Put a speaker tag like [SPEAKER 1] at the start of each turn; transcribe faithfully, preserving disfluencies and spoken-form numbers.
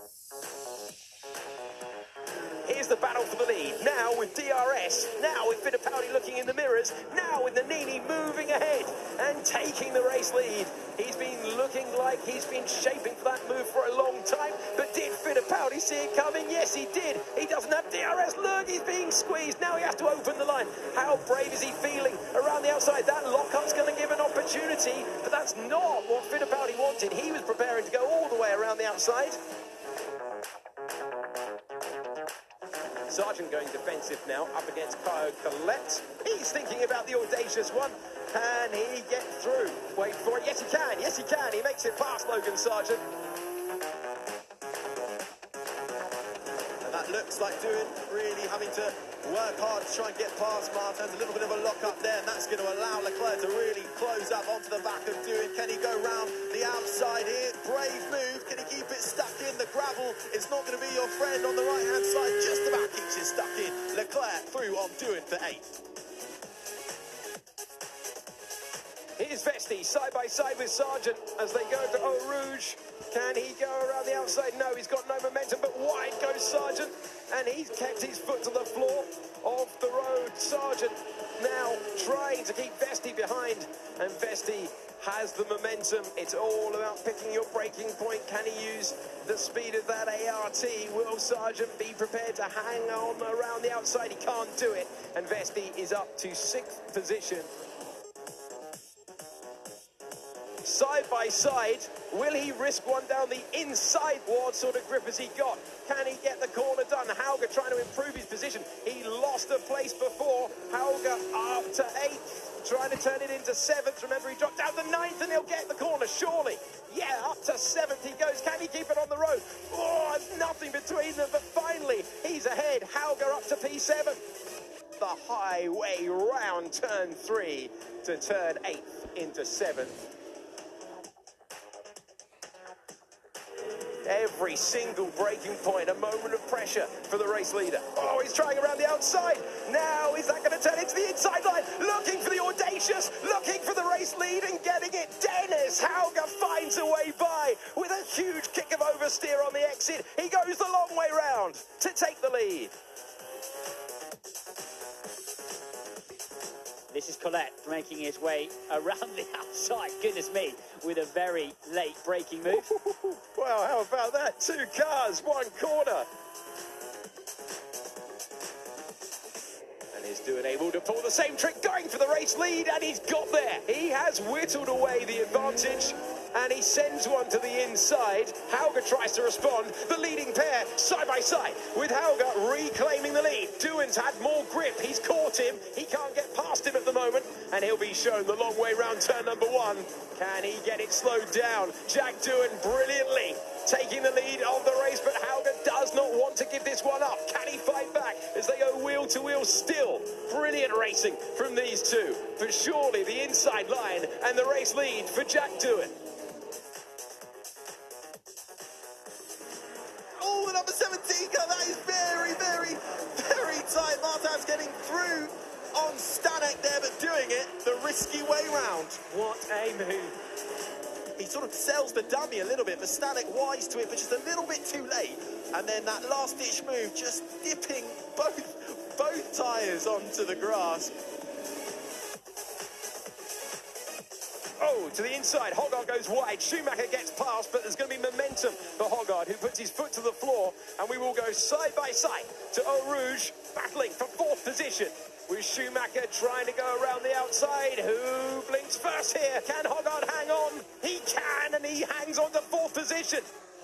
[SPEAKER 1] Here's the battle for the lead. Now with D R S. Now with Fittipaldi looking in the mirrors. Now with Nannini moving ahead and taking the race lead. He's been looking like he's been shaping for that move for a long time. But did Fittipaldi see it coming? Yes, he did. He doesn't have D R S. Look, he's being squeezed. Now he has to open the line. How brave is he feeling around the outside? That lock-up's going to give an opportunity. But that's not what Fittipaldi wanted. He was preparing to go all the way around the outside. Sargent going defensive now, up against Caio Collet. He's thinking about the audacious one. Can he get through? Wait for it. Yes, he can. Yes, he can. He makes it past Logan Sargent.
[SPEAKER 2] And that looks like Doohan really having to work hard to try and get past Martins. A little bit of a lock up there, and that's going to allow Leclerc to really close up onto the back of Doohan. Can he go round the outside here? Brave move. Can he keep it stuck in? The gravel is not going to be your friend on the right-hand side. Just about keeps it stuck in. Leclerc through on Doohan for eighth.
[SPEAKER 1] Here's Vesti side by side with Sargent as they go to Eau Rouge. Can he go around the outside? No, he's got no momentum, but wide goes Sargent, and he's kept his foot to the floor of the road. Sargent now trying to keep Vesti behind, and Vesti has the momentum. It's all about picking your breaking point. Can he use the speed of that A R T? Will Sargent be prepared to hang on around the outside? He can't do it, and Vesti is up to sixth position. Side by side, will he risk one down the inside? What sort of grip has he got? Can he get the corner done? Hauger trying to improve his position. He lost a place before. Hauger up to eighth, trying to turn it into seventh. Remember, he dropped down to ninth, and he'll get the corner, surely. Yeah, up to seventh he goes. Can he keep it on the road? Oh, there's nothing between them, but finally, he's ahead. Hauger up to P seven. The highway round turn three to turn eighth into seventh. Every single breaking point, a moment of pressure for the race leader. Oh, he's trying around the outside. Now, is that going to turn into the inside line? Looking for the audacious, looking for the race lead and getting it. Dennis Hauger finds a way by with a huge kick of oversteer on the exit. He goes the long way round to take the lead.
[SPEAKER 3] This is Collet making his way around the outside, goodness me, with a very late braking move.
[SPEAKER 1] Wow, how about that? Two cars, one corner. And he's doing able to pull the same trick, going for the race lead, and he's got there. He has whittled away the advantage, and he sends one to the inside. Hauger tries to respond. The leading pair side by side with Hauger reclaiming the lead. Doohan's had more grip. He's caught him. He can't get past him at the moment, and he'll be shown the long way round turn number one. Can he get it slowed down? Jack Doohan brilliantly taking the lead of the race, but Hauger does not want to give this one up. Can he fight back as they go wheel to wheel still? Brilliant racing from these two, but surely the inside line and the race lead for Jack Doohan.
[SPEAKER 2] Oh, the number seventeen car, that is very, very, very tight. Martin's getting through on Stanek there, but doing it the risky way round.
[SPEAKER 1] What a move.
[SPEAKER 2] He sort of sells the dummy a little bit, but Stanek wise to it, but just a little bit too late. And then that last-ditch move, just dipping both, both tyres onto the grass.
[SPEAKER 1] Oh, to the inside, Hoggard goes wide. Schumacher gets past, but there's going to be momentum for Hoggard, who puts his foot to the floor, and we will go side by side to Eau Rouge, battling for fourth position, with Schumacher trying to go around the outside. Who blinks first here? Can Hoggard hang on? He can, and he hangs on to fourth position.